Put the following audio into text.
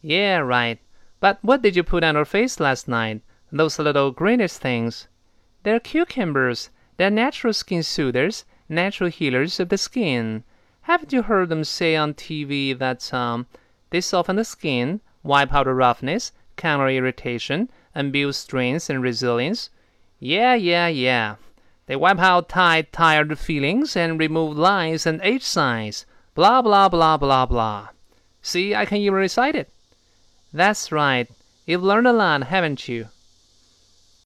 Yeah, right. But what did you put on your face last night? Those little greenish things. They're cucumbers. They're natural skin soothers, natural healers of the skin. Haven't you heard them say on TV that they soften the skin, wipe out the roughness, counter irritation, and build strength and resilience? Yeah. They wipe out tired feelings and remove lines and age signs. Blah, blah, blah, blah, blah. See, I can even recite it. That's right. You've learned a lot, haven't you?